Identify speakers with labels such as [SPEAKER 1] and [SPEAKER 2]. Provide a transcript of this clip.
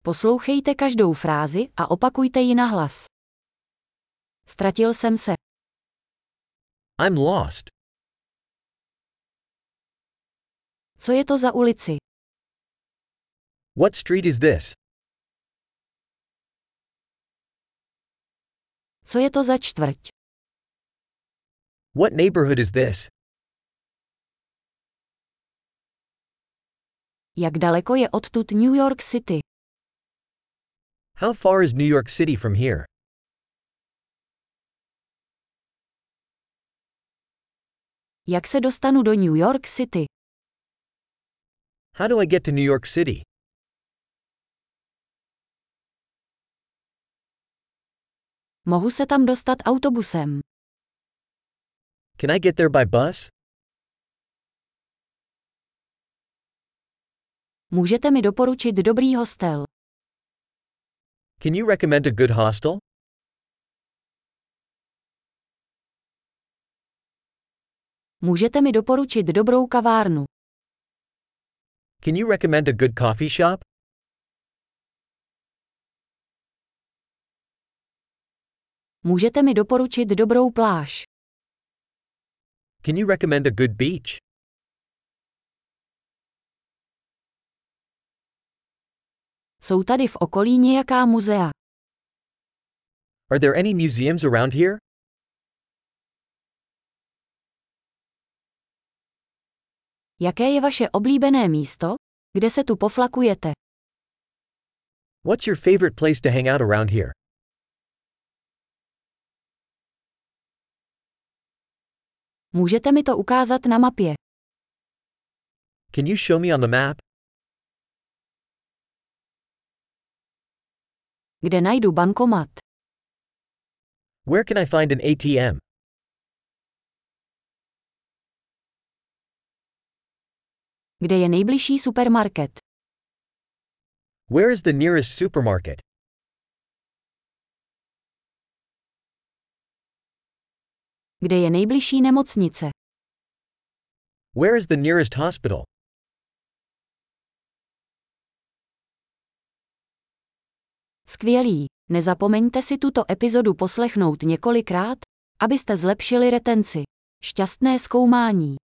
[SPEAKER 1] Poslouchejte každou frázi a opakujte ji nahlas. Ztratil jsem se.
[SPEAKER 2] I'm lost.
[SPEAKER 1] Co je to za ulici?
[SPEAKER 2] What street is this?
[SPEAKER 1] Co je to za čtvrť?
[SPEAKER 2] What neighborhood is this?
[SPEAKER 1] Jak daleko je odtud New York City?
[SPEAKER 2] How far is New York City from here?
[SPEAKER 1] Jak se dostanu do New York City?
[SPEAKER 2] How do I get to New York City?
[SPEAKER 1] Mohu se tam dostat autobusem.
[SPEAKER 2] Can I get there by bus?
[SPEAKER 1] Můžete mi doporučit dobrý hostel?
[SPEAKER 2] Can you recommend a good hostel?
[SPEAKER 1] Můžete mi doporučit dobrou kavárnu?
[SPEAKER 2] Can you recommend a good coffee shop?
[SPEAKER 1] Můžete mi doporučit dobrou pláž?
[SPEAKER 2] Can you recommend a good beach?
[SPEAKER 1] Jsou tady v okolí nějaká muzea?
[SPEAKER 2] Are there any museums around here?
[SPEAKER 1] Jaké je vaše oblíbené místo, kde se tu poflakujete?
[SPEAKER 2] What's your favorite place to hang out around here?
[SPEAKER 1] Můžete mi to ukázat na mapě?
[SPEAKER 2] Can you show me on the map?
[SPEAKER 1] Kde najdu bankomat?
[SPEAKER 2] Where can I find an ATM?
[SPEAKER 1] Kde je nejbližší supermarket?
[SPEAKER 2] Where is the nearest supermarket?
[SPEAKER 1] Kde je nejbližší nemocnice?
[SPEAKER 2] Where is the nearest hospital?
[SPEAKER 1] Skvělý! Nezapomeňte si tuto epizodu poslechnout několikrát, abyste zlepšili retenci. Šťastné zkoumání!